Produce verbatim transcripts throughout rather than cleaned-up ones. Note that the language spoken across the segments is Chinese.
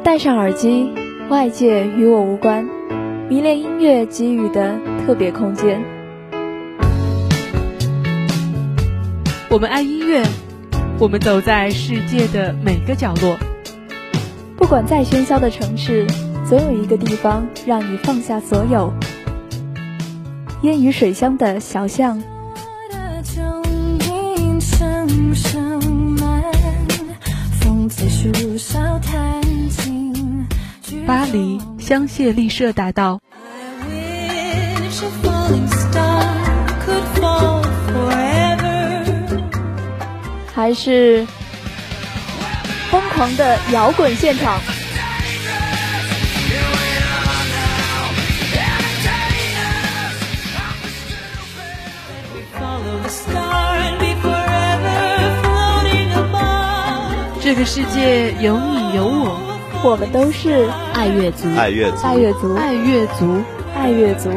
戴上耳机，外界与我无关，迷恋音乐给予的特别空间。 我们爱音乐，我们走在世界的每个角落。 不管再喧嚣的城市，总有一个地方让你放下所有。烟雨水乡的小巷， 巴黎香榭丽舍大道， 还是疯狂的摇滚现场。 这个世界有你有我， 我们都是爱乐族， 爱乐族， 爱乐族， 爱乐族， 爱乐族。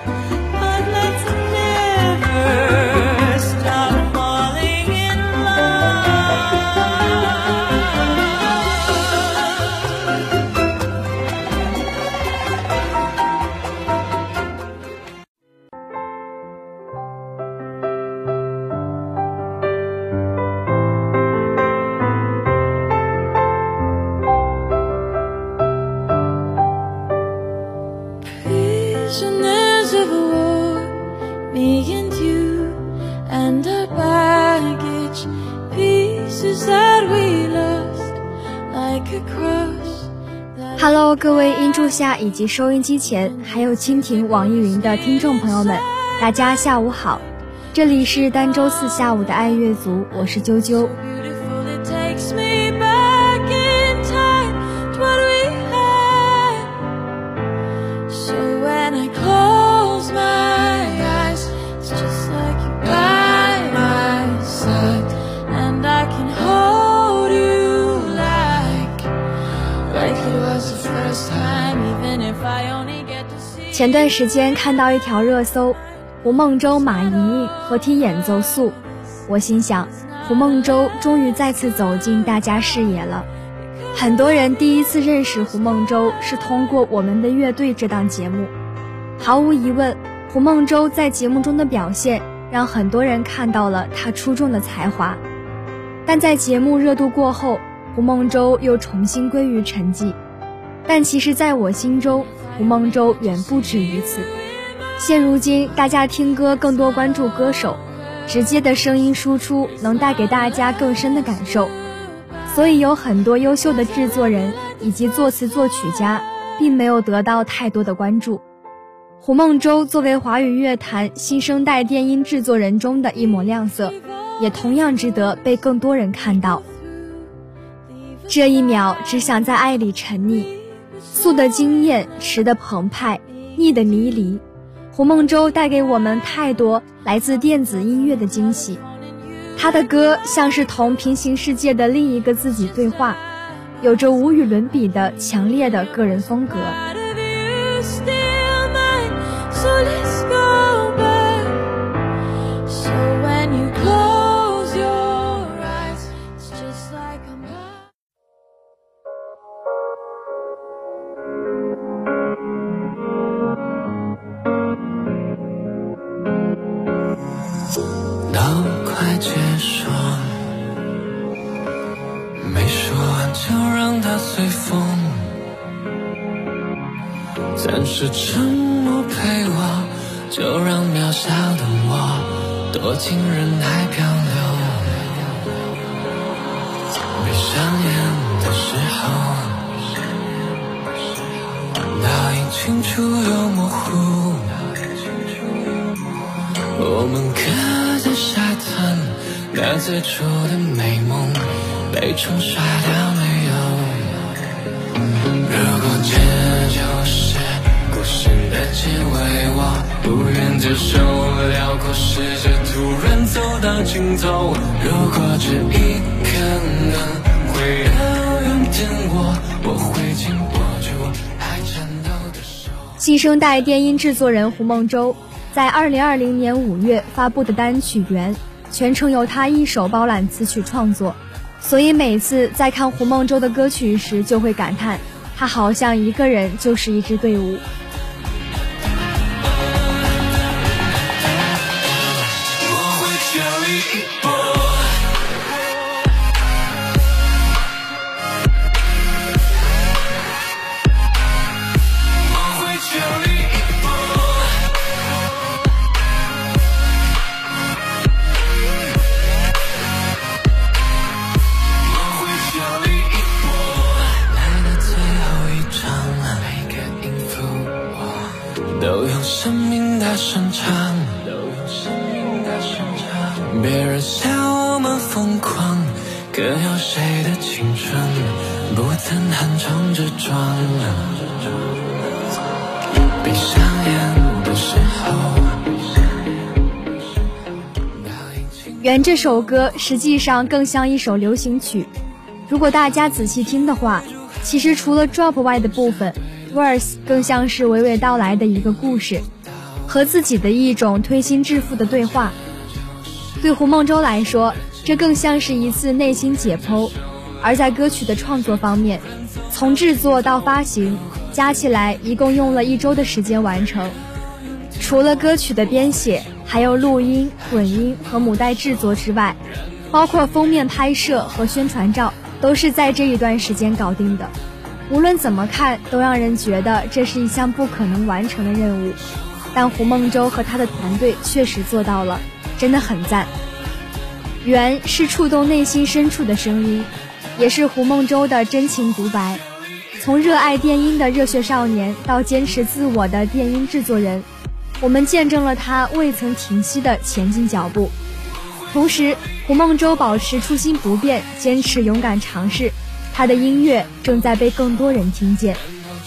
Hello， 各位音柱下以及收音机前，还有蜻蜓、网易云的听众朋友们，大家下午好！这里是单周四下午的爱乐族，我是啾啾。前段时间看到一条热搜，胡梦舟、马莹莹合体演奏素，我心想，胡梦舟终于再次走进大家视野了。很多人第一次认识胡梦舟是通过我们的乐队这档节目。毫无疑问，胡梦舟在节目中的表现让很多人看到了她出众的才华。但在节目热度过后，胡梦舟又重新归于沉寂。但其实在我心中，胡梦舟远不止于此。现如今大家听歌更多关注歌手，直接的声音输出能带给大家更深的感受，所以有很多优秀的制作人以及作词作曲家并没有得到太多的关注。胡梦舟作为华语乐坛新生代电音制作人中的一抹亮色，也同样值得被更多人看到。这一秒只想在爱里沉溺，素的惊艳，迟的澎湃，腻的迷离。胡梦舟带给我们太多来自电子音乐的惊喜，他的歌像是同平行世界的另一个自己对话，有着无与伦比的强烈的个人风格。 结束，没说完就让它随风，暂时沉默陪我，就让渺小的我躲进人海漂流。闭上眼的时候，倒影清楚又模糊，我们刻在沙滩，那最初的美梦被冲刷掉没有？如果这就是故事的结尾，我不愿接受辽阔世界突然走到尽头。如果这一刻能回到原点，我我会紧握住还颤抖的手。 新生代电音制作人胡梦舟在二零二零年五月发布的单曲《缘》全程由他一手包揽词曲创作，所以每次在看胡梦舟的歌曲时就会感叹， 他好像一个人就是一支队伍。 都用生命大声唱，都用生命大声唱。别人笑我们疯狂，可有谁的青春不曾横冲直撞？闭上眼的时候。 原这首歌实际上更像一首流行曲，如果大家仔细听的话，其实除了 drop 外的部分，verse 更像是娓娓道来的一个故事，和自己的一种推心置腹的对话。对胡梦舟来说，这更像是一次内心解剖。而在歌曲的创作方面，从制作到发行，加起来一共用了一周的时间完成。除了歌曲的编写，还有录音、混音和母带制作之外，包括封面拍摄和宣传照，都是在这一段时间搞定的。无论怎么看，都让人觉得这是一项不可能完成的任务，但胡梦舟和他的团队确实做到了，真的很赞。缘是触动内心深处的声音，也是胡梦舟的真情独白。从热爱电音的热血少年到坚持自我的电音制作人，我们见证了他未曾停息的前进脚步。同时，胡梦舟保持初心不变，坚持勇敢尝试，他的音乐正在被更多人听见。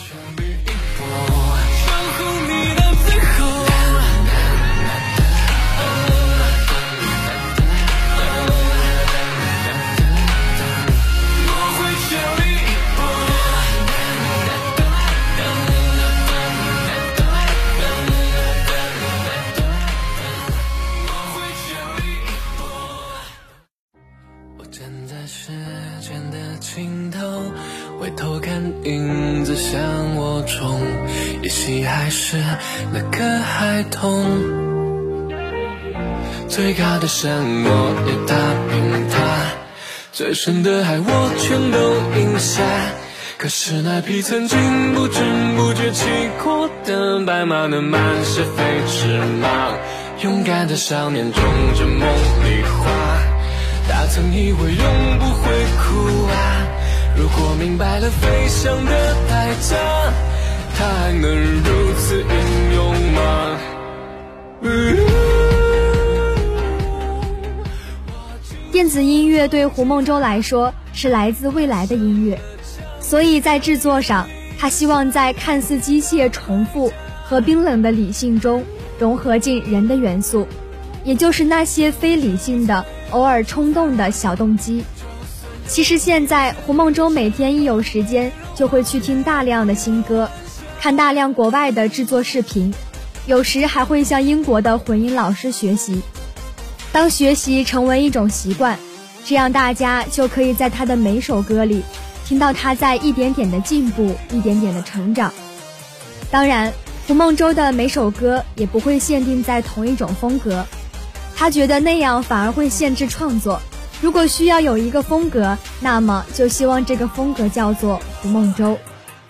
回头看影子向我冲，依稀还是那个孩童。最高的山我也踏平它，最深的海我全都饮下。可是那匹曾经不知不觉骑过的白马，能满是飞驰吗？勇敢的少年种着梦里花，他曾以为永不会哭啊。如果明白了飞翔的代价，他还能如此英勇吗？ 电子音乐对胡梦舟来说是来自未来的音乐，所以在制作上，他希望在看似机械重复和冰冷的理性中融合进人的元素，也就是那些非理性的偶尔冲动的小动机。其实现在胡梦舟每天一有时间就会去听大量的新歌，看大量国外的制作视频，有时还会向英国的混音老师学习。当学习成为一种习惯，这样大家就可以在他的每首歌里听到他在一点点的进步，一点点的成长。当然，胡梦舟的每首歌也不会限定在同一种风格，他觉得那样反而会限制创作。如果需要有一个风格，那么就希望这个风格叫做胡梦舟。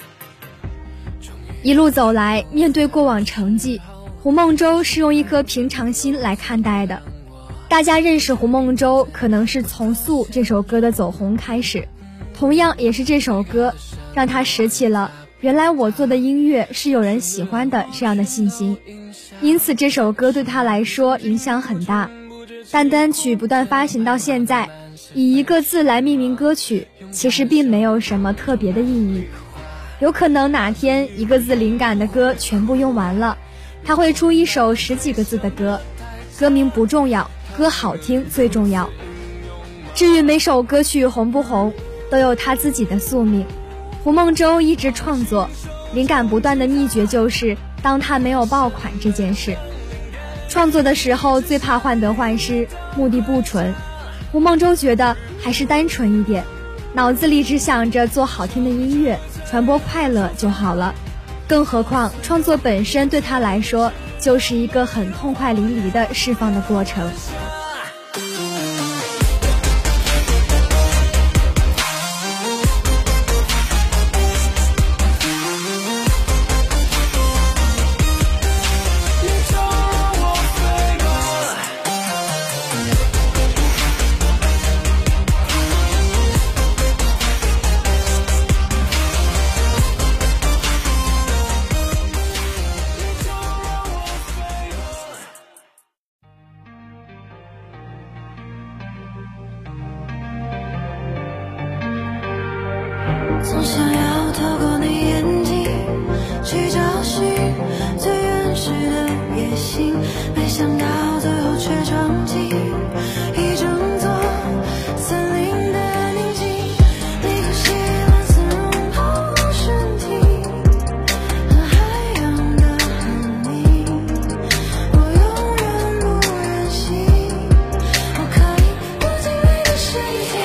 一路走来，面对过往成绩，胡梦舟是用一颗平常心来看待的。大家认识胡梦舟可能是从《素》这首歌的走红开始，同样也是这首歌让他拾起了原来我做的音乐是有人喜欢的这样的信心，因此这首歌对他来说影响很大。但单曲不断发行到现在，以一个字来命名歌曲其实并没有什么特别的意义。有可能哪天一个字灵感的歌全部用完了，他会出一首十几个字的歌，歌名不重要，歌好听最重要。至于每首歌曲红不红，都有他自己的宿命。胡梦舟一直创作，灵感不断的秘诀就是当他没有爆款这件事。创作的时候最怕患得患失，目的不纯。胡梦舟觉得还是单纯一点，脑子里只想着做好听的音乐， 传播快乐就好了。更何况创作本身对他来说就是一个很痛快淋漓的释放的过程。 总想要透过你眼睛去找寻最原始的野心，没想到最后却闯进一整座森林的宁静。你和喜欢丝绒泡沫身体和海洋的痕迹，我永远不忍心我可以躲进你的身体。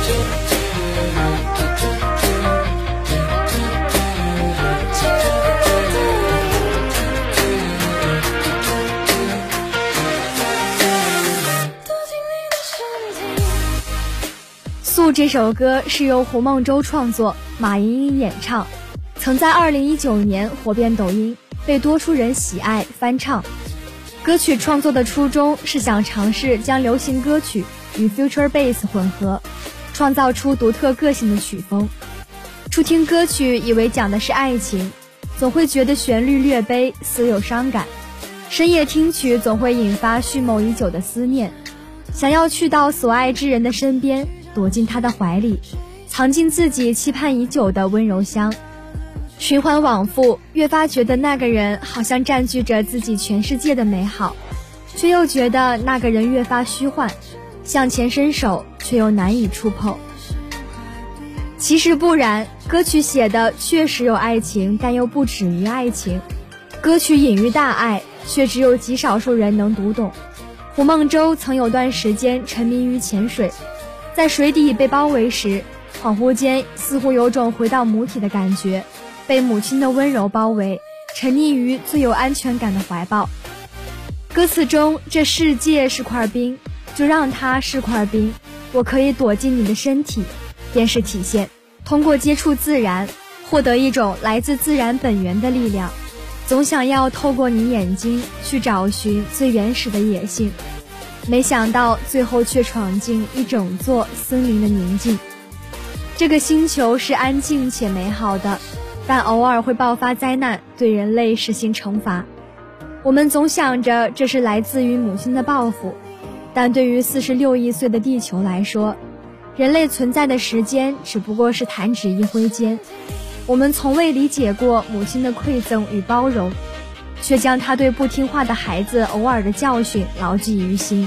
素这首歌是由胡梦舟创作，马莹莹演唱，曾在二零一九年火遍抖音，被多数人喜爱翻唱。歌曲创作的初衷是想尝试将流行歌曲与 future bass 混合，创造出独特个性的曲风。初听歌曲以为讲的是爱情，总会觉得旋律略悲，似有伤感。深夜听曲总会引发蓄谋已久的思念，想要去到所爱之人的身边，躲进他的怀里，藏进自己期盼已久的温柔乡。循环往复，越发觉得那个人好像占据着自己全世界的美好，却又觉得那个人越发虚幻，向前伸手却又难以触碰。其实不然，歌曲写的确实有爱情，但又不止于爱情。歌曲隐喻大爱，却只有极少数人能读懂。胡梦舟曾有段时间沉迷于潜水，在水底被包围时，恍惚间似乎有种回到母体的感觉，被母亲的温柔包围，沉溺于最有安全感的怀抱。歌词中这世界是块冰，就让它是块冰，我可以躲进你的身体，便是体现通过接触自然，获得一种来自自然本源的力量。总想要透过你眼睛去找寻最原始的野性，没想到最后却闯进一整座森林的宁静。这个星球是安静且美好的，但偶尔会爆发灾难，对人类实行惩罚。我们总想着这是来自于母亲的报复，但对于四十六亿岁的地球来说，人类存在的时间只不过是弹指一挥间。我们从未理解过母亲的馈赠与包容，却将她对不听话的孩子偶尔的教训牢记于心。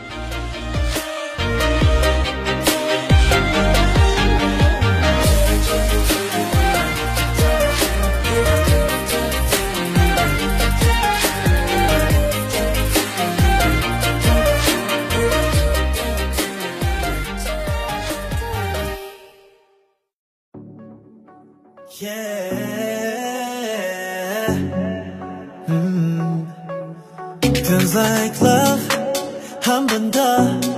Yeah. Mm. Feels like love 한 번 더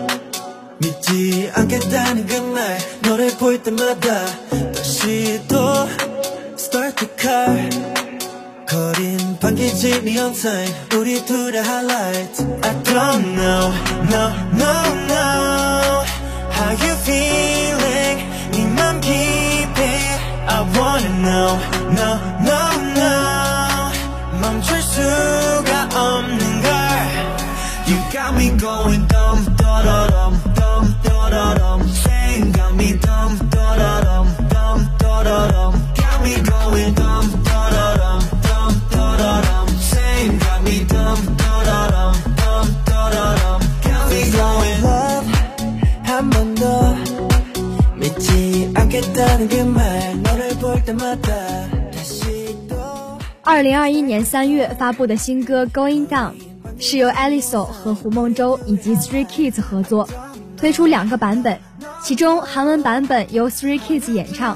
믿지 않겠다는 그 말 너를 볼 때마다 다시 또 Start the car 거린 반기지 neon sign 우리 둘의 highlight I don't know, no, no, no How you feeling 네 맘 깊이 I wanna know, no, no, no 멈출 수가 없는 걸 You got me going dumb, da-da-dum, dumb, da-da-dum Saying got me dumb, da-da-dum, dumb, da-da-dum Got me going dumb, da-da-dum, dumb, da-da-dum Saying got me dumb, da-da-dum, dumb, da-da-dum Got me going love 한 번 더 믿지 않겠다는 그 말 너를 볼 때마다 다시 또 二零二一年三月发布的新歌 Going Down 是由 Aliso 和胡梦舟以及 Stray Kids 合作推出两个版本，其中韩文版本由 Stray Kids 演唱，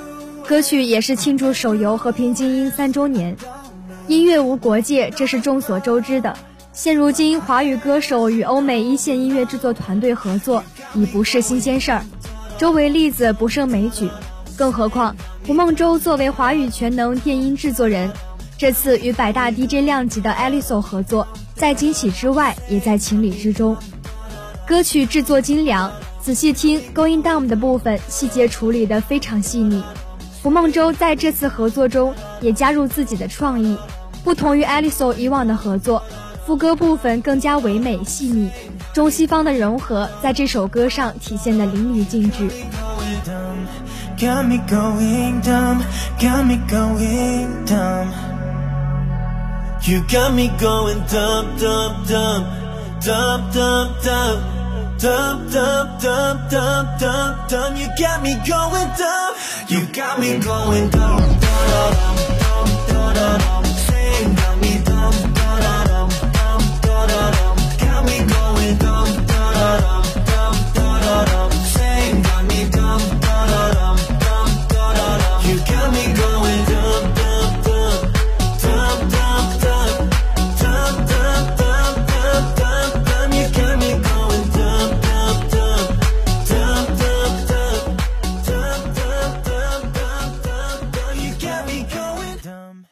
歌曲也是庆祝手游《和平精英》三周年。音乐无国界，这是众所周知的。现如今，华语歌手与欧美一线音乐制作团队合作已不是新鲜事儿，周围例子不胜枚举。更何况胡梦舟作为华语全能电音制作人，这次与百大 D J 量级的 Alisol 合作，在惊喜之外也在情理之中。歌曲制作精良，仔细听 Going Down 的部分细节处理得非常细腻。胡梦舟在这次合作中也加入自己的创意，不同于 Alisol 以往的合作，副歌部分更加唯美细腻，中西方的融合在这首歌上体现得淋漓尽致。 Got me going dumb, got me going dumb. You got me going dumb, dumb, dumb, dumb, dumb, dumb, dumb, dumb, dumb, dumb, dumb, dumb. You got me going dumb, you got me going dumb, dumb, dumb, dumb, dumb. Saying got me dumb, dumb, dumb, dumb, dumb. Got me going dumb, dumb, dumb, dumb, dumb. Saying got me dumb, dumb, dumb. You got me going dumb, dumb, dumb, dumb, dumb, dumb, dumb, dumb, dumb, dumb, dumb. You got me going dumb, dumb, dumb, dumb, dumb, dumb, dumb, dumb, dumb, dumb, dumb. You got me going dumb.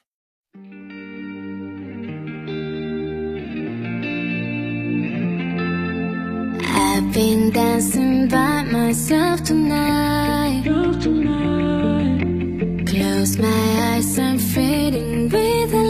I've been dancing by myself tonight. Close my eyes, I'm fading with the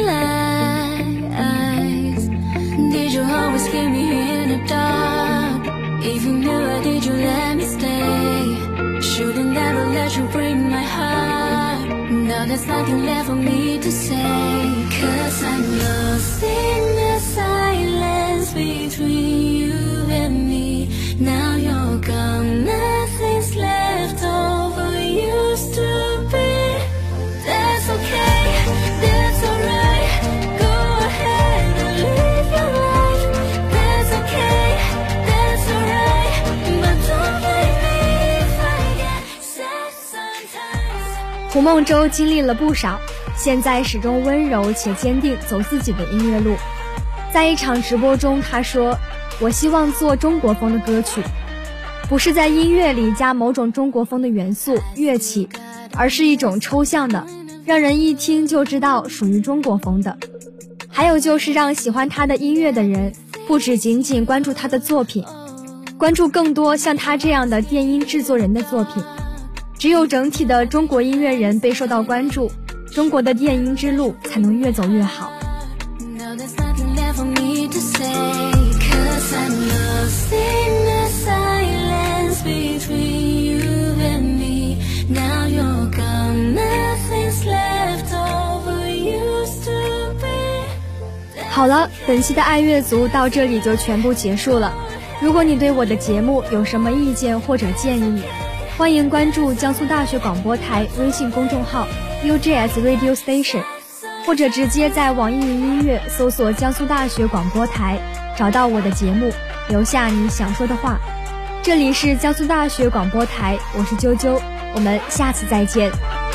lights. Did you always keep me in the dark? If you knew I did, you let me stay. Shouldn't ever let you break my heart. Now there's nothing left for me to say. Cause I'm lost in the silence between you and me. Now you're gone, nothing's left over used to be. That's okay, that's alright. Go ahead and live your life. That's okay, that's alright. But don't blame me if I get sad sometimes. 胡梦舟经历了不少，现在始终温柔且坚定走自己的音乐路。在一场直播中，他说：“我希望做中国风的歌曲，不是在音乐里加某种中国风的元素、乐器，而是一种抽象的，让人一听就知道属于中国风的。还有就是让喜欢他的音乐的人，不只仅仅关注他的作品，关注更多像他这样的电音制作人的作品。只有整体的中国音乐人被受到关注，中国的电音之路才能越走越好。” Now there's nothing left for me to say. Cause I'm lost in the silence between you and me. Now you're gone, nothing's left over used to be. 好了，本期的爱乐族到这里就全部结束了。如果你对我的节目有什么意见或者建议，欢迎关注江苏大学广播台微信公众号 U J S Radio Station， 或者直接在网易云音乐搜索江苏大学广播台，找到我的节目，留下你想说的话。这里是江苏大学广播台，我是啾啾，我们下次再见。